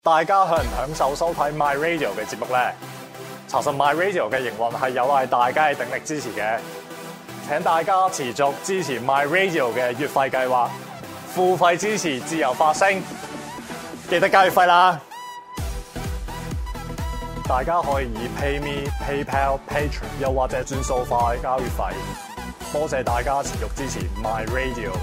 大家享唔享受收睇 My Radio 嘅節目呢？查實 My Radio 嘅營運係有賴大家嘅鼎力支持嘅，請大家持續支持 My Radio 嘅月費計劃，付費支持自由發聲，記得交月費啦！大家可以以 PayMe、PayPal、Patreon 又或者轉數快交月費，多謝大家持續支持 My Radio。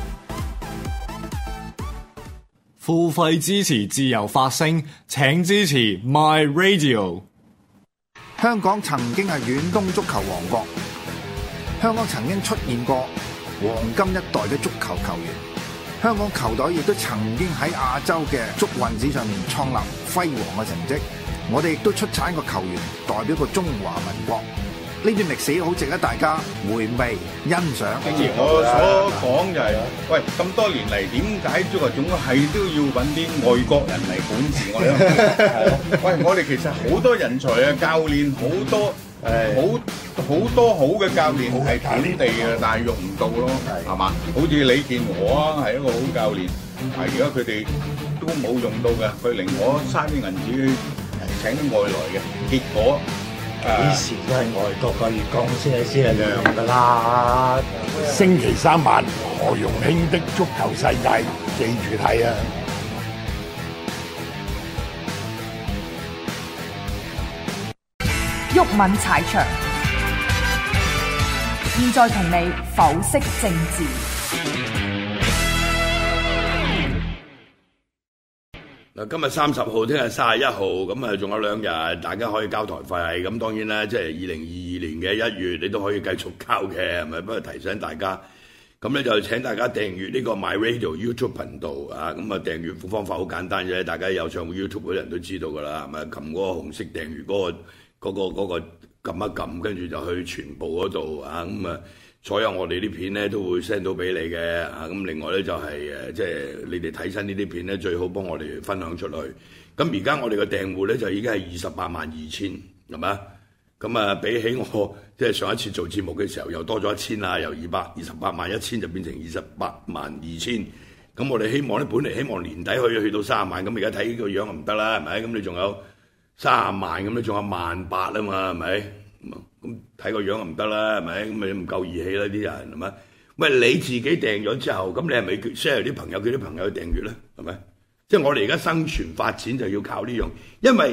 付費支持自由發聲，請支持 My Radio。 香港曾經係遠東足球王國，香港曾經出現過黃金一代嘅足球球員，香港球隊亦都曾經喺亞洲嘅足運史上面創立輝煌嘅成績。我哋亦都出產個球員代表個中華民國，呢段歷史好值得大家回味欣賞。 正如我所講就係，喂，咁多年嚟點解足球總係都要揾啲外國人嚟管治我哋？喂，我哋其實好多人才嘅教練，好多好嘅教練係本地嘅，但係用唔到咯，係嘛？好似李健和啊，係一個好教練，但係而家佢哋都冇用到嘅，佢寧可嘥啲銀紙請啲外來嘅，結果。 幾時都係外國嘅月光先係亮㗎啦！ 星期三晚何容興的足球世界，記住睇啊！ 毓民踩場，現在同你剖析政治。 今日30號，聽日31號，咁啊仲有2日，大家可以交台費。咁當然啦，即係2022年嘅1月，你都可以繼續交嘅，係咪？不過提醒大家，咁咧就請大家訂閱呢個 My Radio YouTube 頻道啊。咁啊訂閱方法好簡單啫，大家有上 YouTube 嗰啲人都知道㗎啦，係咪？撳嗰個紅色訂閱嗰個撳一撳，跟住就去全部嗰度啊。咁啊，所有我哋啲片咧都會 send 到俾你嘅啊。咁另外咧就係即係你哋睇親呢啲片咧，最好幫我哋分享出去。咁而家我哋嘅訂戶咧就已經係282000，係咪？咁啊，比起我即係上一次做節目嘅時候又多咗1000啦，由281000就變成282000。咁我哋希望咧，本嚟希望年底可以去到30萬，咁而家睇個樣唔得啦，係咪？咁你仲有30萬，咁你仲有18000啊嘛，係咪？咁睇個樣唔得啦，係咪？咁你唔夠義氣啦啲人，係咪？喂，你自己訂咗之後，咁你係咪 share 啲朋友，叫啲朋友去訂閱咧？係咪？即係我哋而家生存發展就要靠呢樣，因為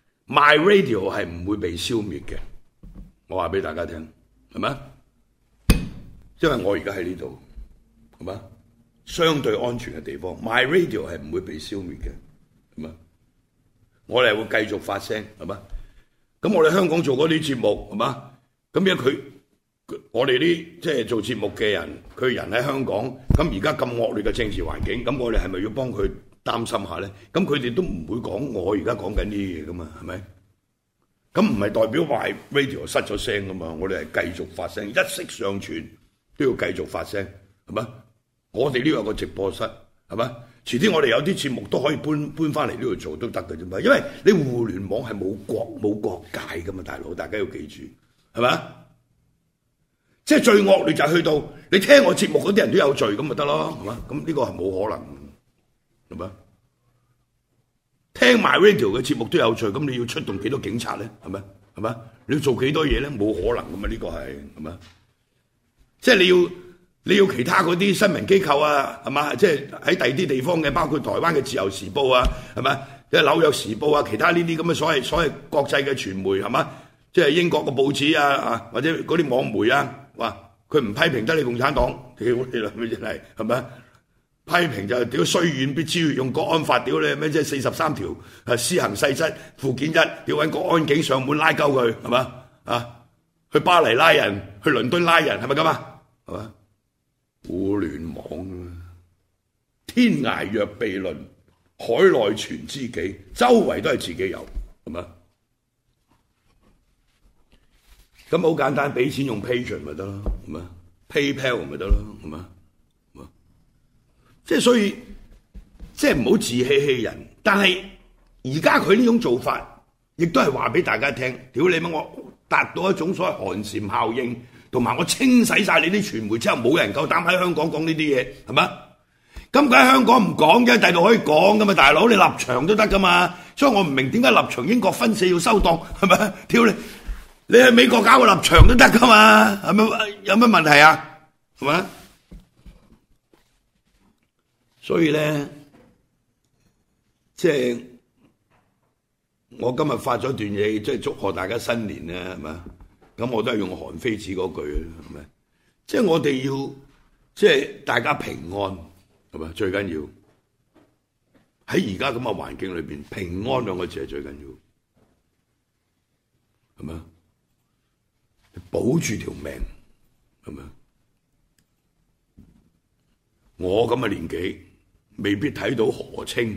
My Radio 係唔會被消滅嘅。我話俾大家聽，係咪？因為我而家喺呢度，係咪？相對安全嘅地方 ，My Radio 係唔會被消滅嘅，係咪？我哋係會繼續發聲，係咪？咁我哋香港做嗰啲節目係嘛？咁因為我哋啲即係做節目嘅人，佢人喺香港，咁而家咁惡劣嘅政治環境，咁我哋係咪要幫佢擔心下咧？咁佢哋都唔會講我而家講緊呢啲嘢噶嘛，係咪？咁唔係代表話 radio 失咗聲噶嘛？我哋係繼續發聲，一息尚存都要繼續發聲，係咪？我哋呢度有個直播室，係咪？遲啲我哋有啲節目都可以搬翻嚟呢度做都得嘅啫嘛，因為你互聯網係冇國界噶嘛，大佬，大家要記住，係咪？即係最惡劣就係去到你聽我節目嗰啲人都有罪咁咪得咯，係嘛？咁呢個係冇可能，係咪？聽埋 radio 嘅節目都有罪，咁你要出動幾多警察咧？係咪？係咪？你要做幾多嘢咧？冇可能噶嘛，呢個係咪？即係你要其他嗰啲新聞機構啊，係嘛？即係喺第二啲地方嘅，包括台灣嘅自由時報啊，係咪？即係紐約時報啊，其他呢啲咁嘅所謂國際嘅傳媒係嘛？即係英國嘅報紙啊，或者嗰啲網媒啊，哇！佢唔批評得你共產黨，屌你啦，咩真係係咪？批評就屌雖遠必誅，用國安法屌你咩？即係43條施行細則附件1，屌揾國安警上門拉鳩佢係嘛？啊，去巴黎拉人，去倫敦拉人係咪咁啊？係嘛？互聯網啊，天涯若比鄰，海內存知己，周圍都係自己有，係嘛？咁好簡單，俾錢用 Patreon 咪得咯，係嘛 ？PayPal 咪得咯，係嘛？即係所以，即係唔好自欺欺人。但係而家佢呢種做法，亦都係話俾大家聽，屌你乜我達到一種所謂寒蟬效應。同埋我清洗晒你啲傳媒之後，冇人夠膽喺香港講呢啲嘢，係嘛？ 咁喺香港唔講嘅，第度可以講噶嘛，大佬你立場都得噶嘛。所以我唔明點解立場英國分四要收檔，係咪？屌你喺美國搞個立場都得噶嘛，係咪？有乜問題啊？係咪？所以咧，即係我今日發咗段嘢，即係祝賀大家新年咧，係咪？咁我都係用韓非子嗰句，係咪？即係我哋要，即係大家平安，係咪？最緊要喺而家咁嘅環境裏邊，平安兩個字係最緊要，係咪？保住條命，係咪？我咁嘅年紀，未必睇到河清，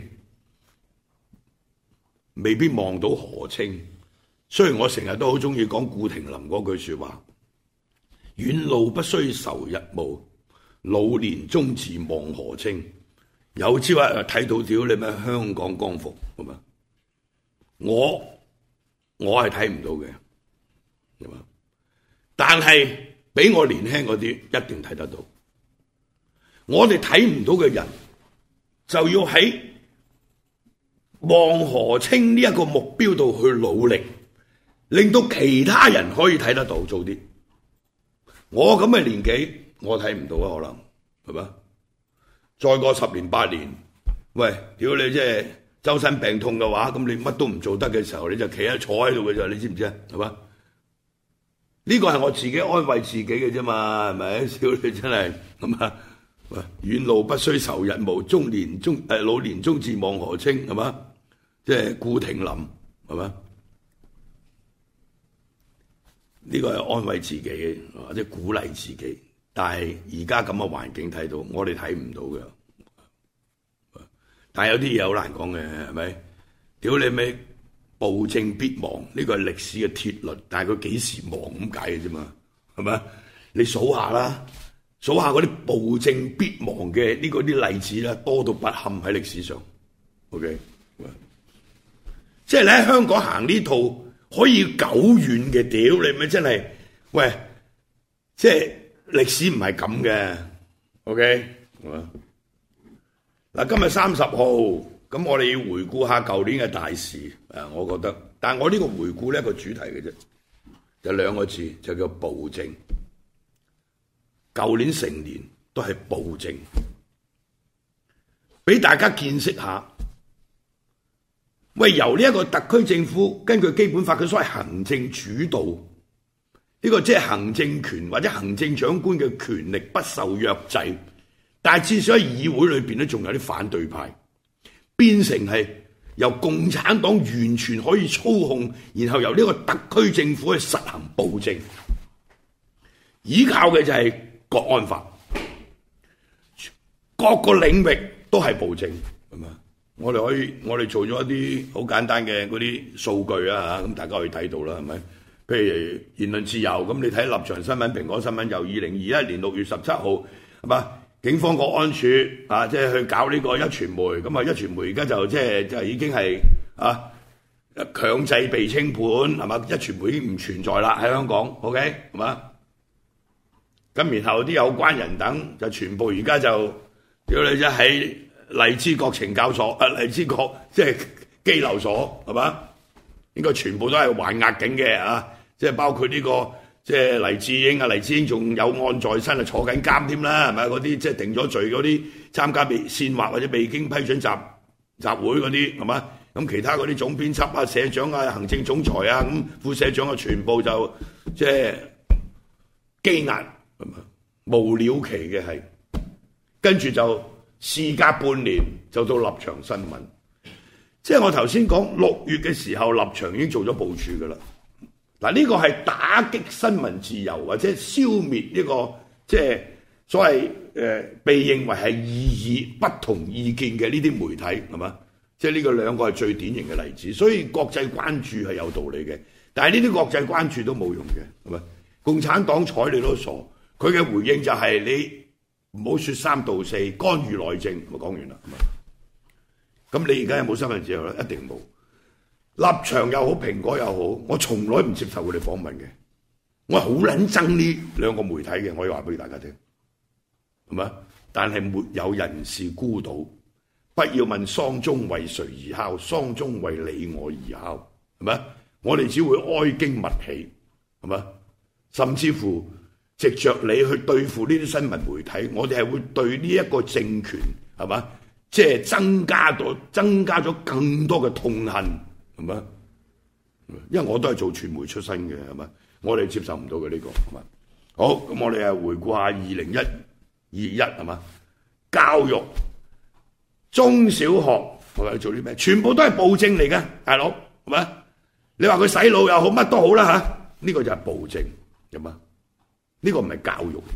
未必望到河清。雖然我成日都好中意講顧廷林嗰句說話，遠路不須愁日暮，老年終自望河清。有朝一日睇到屌你咩香港光復，係嘛？我係睇唔到嘅，係嘛？但係比我年輕嗰啲一定睇得到。我哋睇唔到嘅人，就要喺望河清呢一個目標度去努力，令到其他人可以睇得到，做啲。我咁嘅年紀，我睇唔到啊，可能係嘛？再過10年8年，喂，屌你即係周身病痛嘅話，咁你乜都唔做得嘅時候，你就企喺坐喺度嘅啫，你知唔知啊？係嘛？呢個係我自己安慰自己嘅啫嘛，係咪？屌你真係咁啊！喂，遠路不須愁日暮，老年終自望河清，係嘛？即係顧廷林，係嘛？呢個係安慰自己或者鼓勵自己，但係而家咁嘅環境睇到，我哋睇唔到嘅。但係有啲嘢好難講嘅，係咪？屌你咪暴政必亡，呢個係歷史嘅鐵律，但係佢幾時亡咁解嘅啫嘛？係咪？你數下啦，數下嗰啲暴政必亡嘅呢個啲例子啦，多到不堪喺歷史上。OK， 即係你喺香港行呢套可以久遠嘅，屌你咪真係，喂，即係歷史唔係咁嘅。OK， 嗱，今日30號，咁我哋要回顧下舊年嘅大事，我覺得，但係我呢個回顧呢一個主題嘅啫，就2個字，就叫暴政。舊年成年都係暴政，俾大家見識下。喂，由呢一個特區政府根據基本法嘅所謂行政主導，呢個即係行政權或者行政長官嘅權力不受約制。但係至少喺議會裏邊咧，仲有啲反對派，變成係由共產黨完全可以操控，然後由呢個特區政府去實行暴政，依靠嘅就係國安法，各個領域都係暴政，係嘛？我哋做咗一啲好簡單嘅嗰啲數據啊，咁大家可以睇到啦，係咪？譬如言論自由，咁你睇立場新聞、蘋果新聞，由2021年6月17號，係嘛？警方國安處啊，即係去搞呢個壹傳媒，咁啊壹傳媒而家就已經係啊強制被清盤，係嘛？壹傳媒已經唔存在啦喺香港 ，OK 係嘛？咁然後啲有關人等就全部而家就屌你啫喺荔枝角懲教所，荔枝角即係羈留所，係嘛？應該全部都係還押境嘅啊！即係包括呢個。即係黎智英啊，黎智英仲有案在身啊，坐緊監添啦，係咪？嗰啲即係定咗罪嗰啲參加被煽惑或者未經批准集會嗰啲，係嘛？咁其他嗰啲總編輯啊、社長啊、行政總裁啊、咁副社長啊，全部就即係羈押，係嘛？無了期嘅係，跟住就事隔半年就到立場新聞。即係我頭先講6月嘅時候，立場已經做咗部署㗎啦。嗱，呢個係打擊新聞自由或者消滅呢個即係所謂被認為係異議不同意見嘅呢啲媒體，係嘛？即係呢個2個係最典型嘅例子，所以國際關注係有道理嘅。但係呢啲國際關注都冇用嘅，係咪？共產黨睬你都傻，佢嘅回應就係你唔好説三道四，干預內政，咪講完啦，係咪？咁你而家有冇新聞自由咧？一定冇。立場又好，蘋果又好，我從來唔接受佢哋訪問嘅。我係好撚憎呢2個媒體嘅，我要話俾大家聽，係咪？ 但係沒有人是孤島。不要問喪鐘為誰而敲，喪鐘為你我而敲，係咪？我哋只會哀矜勿喜，係咪？甚至乎藉着你去對付呢啲新聞媒體，我哋係會對呢一個政權，係嘛？即係增加咗更多嘅痛恨，係咪？因為我都係做傳媒出身嘅，係咪？我哋接受唔到嘅呢個，係咪？好，咁我哋回顧下2021，係嘛？教育中小學我哋做啲咩？全部都係暴政嚟嘅，大佬，係咪？你話佢洗腦又好，乜都好啦嚇，呢個就係暴政，係嘛？呢個唔係教育，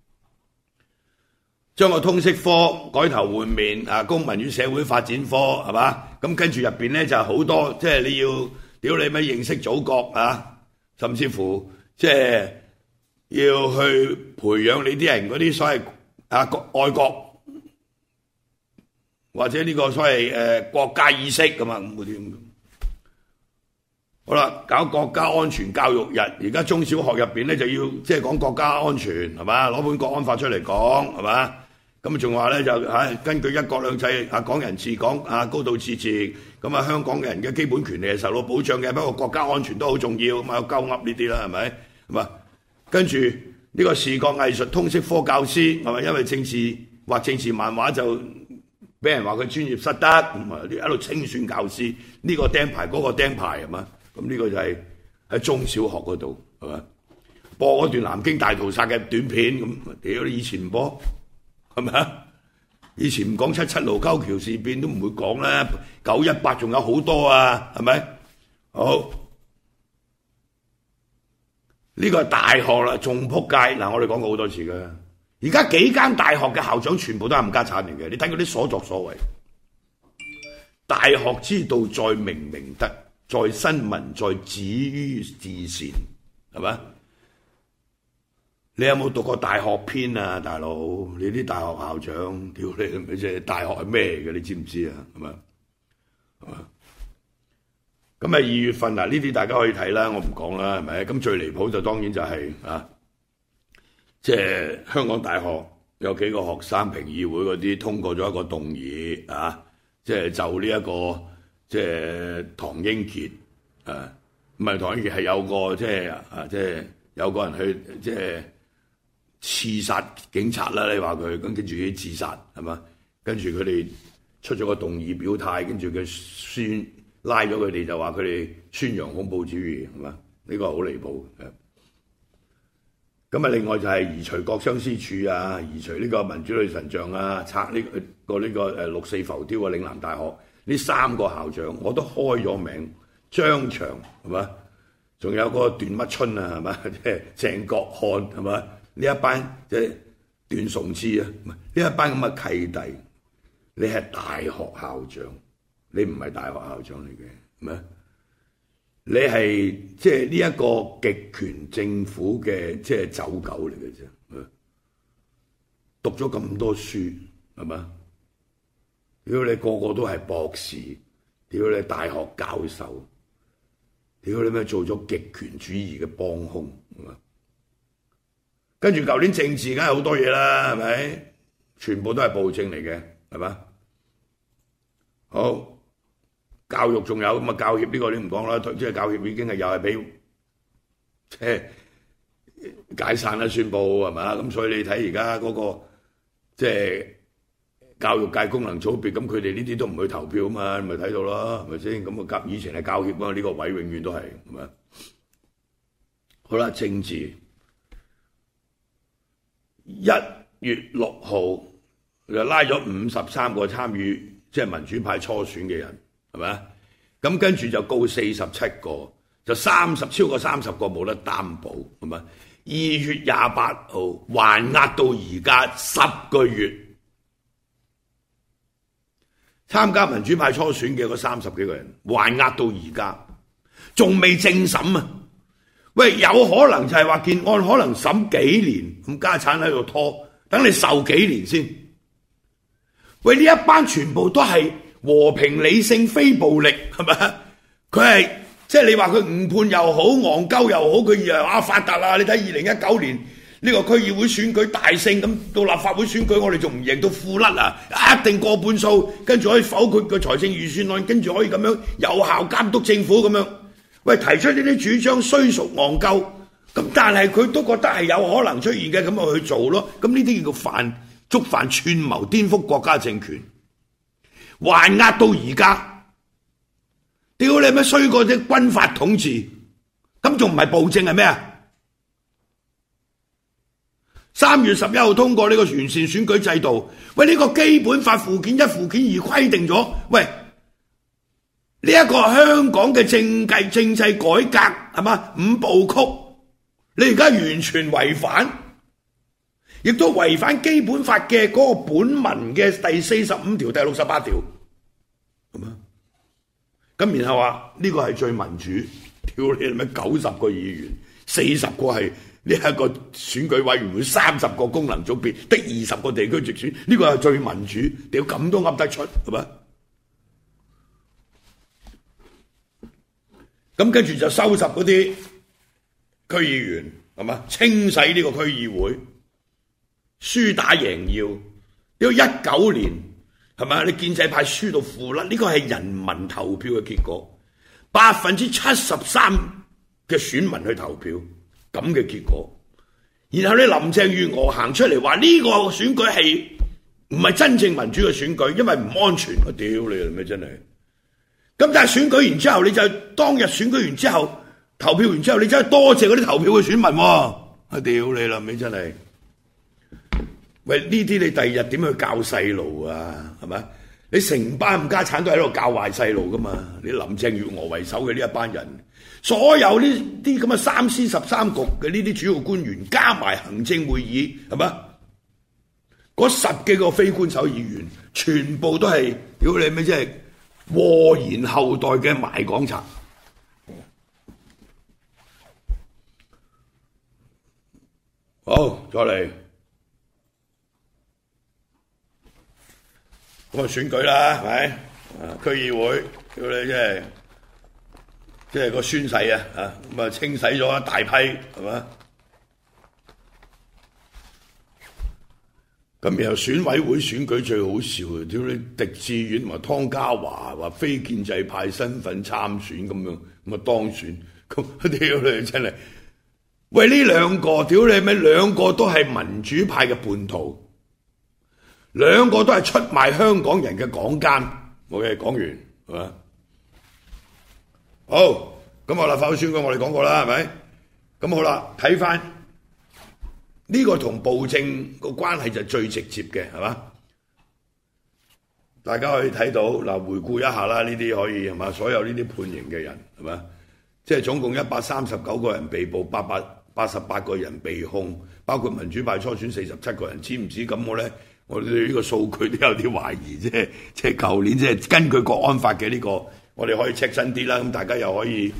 將個通識科改頭換面啊，公民與社會發展科係嘛？咁跟住入邊咧就係好多，即係你要屌你咩認識祖國啊，甚至乎即係要去培養你啲人嗰啲所謂愛國或者呢個所謂國家意識咁啊咁嗰啲咁。好啦，搞國家安全教育日，而家中小學入邊咧就要即係講國家安全係嘛，攞本國安法出嚟講係嘛，咁仲話咧就根據一國兩制港人治港高度自治，咁香港人嘅基本權利係受到保障嘅，不過國家安全都好重要，咁有鳩噏呢啲啦係咪？係嘛？跟住呢個視覺藝術通識科教師係咪因為畫政治漫畫就俾人話佢專業失德，咁啊你喺度清算教師，呢個釘牌嗰個釘牌係嘛？咁呢個就係喺中小學嗰度係嘛？播嗰段南京大屠殺嘅短片咁，屌你以前唔播係咪啊？以前唔講77盧溝橋事變都唔會講啦，918仲有好多啊，係咪？好，呢個係大學啦，仲撲街嗱！我哋講過好多次㗎，而家幾間大學嘅校長全部都係冚家產嚟嘅，你睇嗰啲所作所為。大學之道在明明德，在新聞，在止於至善，係咪？你有冇讀過大學篇啊，大佬？你啲大學校長，屌你，即係大學係咩嚟嘅？你知唔知啊？係咪？咁2月份嗱，呢啲大家可以睇啦，我唔講啦，係咪？咁最離譜就當然就係即係香港大學有幾個學生評議會嗰啲通過咗一個動議啊，即係就呢一個即係唐英傑唔係唐英傑係有個即係有個人去即係刺殺警察啦，你話佢咁跟住佢自殺係嘛？跟住佢哋出咗個動議表態，跟住佢拉咗佢哋就話佢哋宣揚恐怖主義係嘛？呢個好離譜嘅。咁另外就係移除國殤之柱啊，移除呢個民主女神像啊，拆呢個六四浮雕啊，嶺南大學呢3個校長我都開咗名，張翔係嘛？仲有嗰個段乜春啊係嘛？即係鄭國漢係嘛？呢一班即係段崇智啊，呢一班咁嘅契弟，你係大學校長，你唔係大學校長嚟嘅，係咪？你係即係呢一個極權政府嘅即係走狗嚟嘅啫，讀咗咁多書係嘛？屌你個個都係博士，屌你大學教授，屌你咩做咗極權主義嘅幫兇，係嘛？跟住舊年政治梗係好多嘢啦，係咪？全部都係暴政嚟嘅，係嘛？好。教育仲有咁啊，教協呢個你唔講啦，即係教協已經係又係俾即係解散啦，宣佈係嘛？咁所以你睇而家嗰個即係教育界功能組別，咁佢哋呢啲都唔去投票啊嘛，你咪睇到咯，係咪先？咁啊，以前係教協啊，呢個位永遠都係係咪？好啦，政治1月6號就拉咗53個參與即係民主派初選嘅人。係咪？咁跟住就告47個，就超過30個冇得擔保，係咪？2月28號還押到而家10個月，參加民主派初選嘅嗰30幾個人還押到而家，仲未正審啊！喂，有可能就係話件案可能審幾年，咁家產喺度拖，等你受幾年先。喂，呢一班全部都係和平理性非暴力係咪？佢係即係你話佢誤判又好，戇鳩又好，佢又發達啦！你睇2019年呢個區議會選舉大勝，咁到立法會選舉我哋仲唔贏到褲甩啊？一定過半數，跟住可以否決個財政預算案，跟住可以咁樣有效監督政府咁樣。喂，提出呢啲主張雖屬戇鳩，咁但係佢都覺得係有可能出現嘅，咁咪去做咯。咁呢啲叫觸犯串謀顛覆國家政權，還押到而家，屌你咩衰過啲軍閥統治，咁仲唔係暴政係咩啊？3月11號通過呢個完善選舉制度，喂，呢個基本法附件1、附件2規定咗，喂，呢一個香港嘅政制改革係嘛5部曲，你而家完全違反，亦都違反基本法嘅嗰個本文嘅第45條、第68條，係嘛？咁然後話呢個係最民主，屌你咩90個議員，40個係呢一個選舉委員會，30個功能組別，得20個地區直選，呢個係最民主，屌咁都噏得出係嘛？咁跟住就收拾嗰啲區議員係嘛，清洗呢個區議會，輸打贏要。屌19年係嘛，你建制派輸到褲甩，呢個係人民投票嘅結果，73%嘅選民去投票。咁嘅結果，然後你林鄭月娥行出嚟話呢個選舉係唔係真正民主嘅選舉，因為唔安全。我屌你啦咩真係！咁但係選舉完之後，你就當日選舉完之後，投票完之後，你真係多謝嗰啲投票嘅選民喎！我屌你啦咩真係！喂，呢啲你第二日點去教細路啊？係咪？你成班冚家產都喺度教壞細路噶嘛？你林鄭月娥為首嘅呢一班人。所有呢啲咁嘅3司13局嘅呢啲主要官員，加埋行政會議係嘛？嗰10幾個非官守議員，全部都係屌你咩？即係禍延後代嘅賣港賊。好，再嚟咁啊選舉啦，係咪？區議會屌你即係個宣誓啊！咁啊清洗咗一大批係嘛？咁然後選委會選舉最好笑啊！屌你狄志遠同埋湯家驊話非建制派身份參選咁樣，咁啊當選，咁屌你真係！喂，呢兩個屌你咩？兩個都係民主派嘅叛徒，兩個都係出賣香港人嘅港奸。OK，講完係嘛？好，咁立法會選舉我哋講過啦，係咪？咁好啦，睇翻呢個同暴政個關係就最直接嘅，係嘛？大家可以睇到嗱，回顧一下啦，呢啲可以係嘛？所有呢啲判刑嘅人係嘛？即係總共139個人被捕，888個人被控，包括民主派初選47個人，知唔知咁我哋對呢個數據都有啲懷疑，即係舊年即係根據國安法嘅呢個。我哋可以 check 真啲啦，咁大家又可以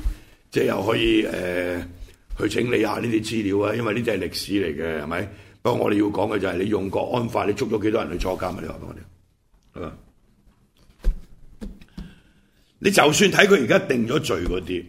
去整理下呢啲資料啊，因為呢啲係歷史嚟嘅，係咪？不過我哋要講嘅就係你用國安法，你捉咗幾多人去坐監啊？你話俾我哋，係嘛？你就算睇佢而家定咗罪嗰啲，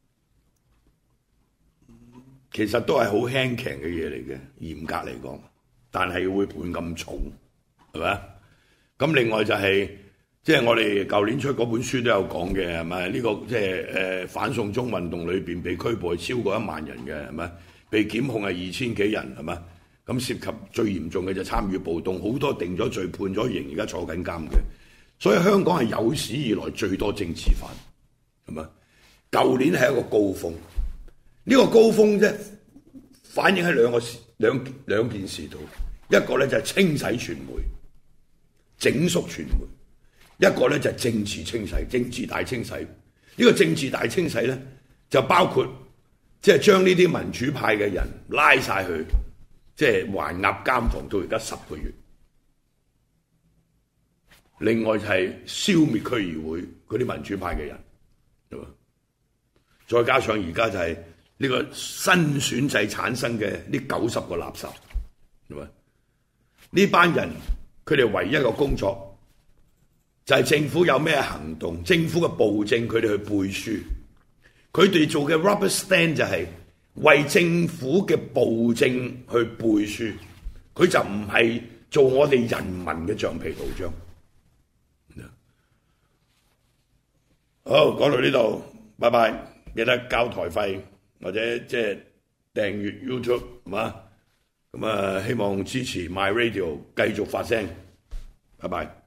其實都係好輕強嘅嘢嚟嘅，嚴格嚟講，但係會判咁重，係咪？咁另外就係。即係我哋舊年出嗰本書都有講嘅，係咪？呢個即係反送中運動裏邊被拘捕係超過1萬人嘅，係咪？被檢控係2000幾人，係咪？咁涉及最嚴重嘅就參與暴動，好多定咗罪判咗刑，而家坐緊監嘅。所以香港係有史以來最多政治犯，係咪？舊年係一個高峰，呢個高峰啫，反映喺兩件事度，一個咧就係清洗傳媒、整肅傳媒。一個咧就係政治清洗，政治大清洗。呢個政治大清洗咧，就包括即係將呢啲民主派嘅人拉晒去，即係還押監房到而家10個月。另外就係消滅區議會嗰啲民主派嘅人，係嘛？再加上而家就係呢個新選制產生嘅呢90個垃圾，係嘛？呢班人佢哋唯一嘅工作。就係政府有咩行動，政府嘅暴政佢哋去背書，佢哋做嘅 rubber stand 就係為政府嘅暴政去背書，佢就唔係做我哋人民嘅橡皮圖章。好，講到呢度，拜拜！記得交台費或者即係訂閱 YouTube，係嘛？咁啊，希望支持 My Radio 繼續發聲，拜拜。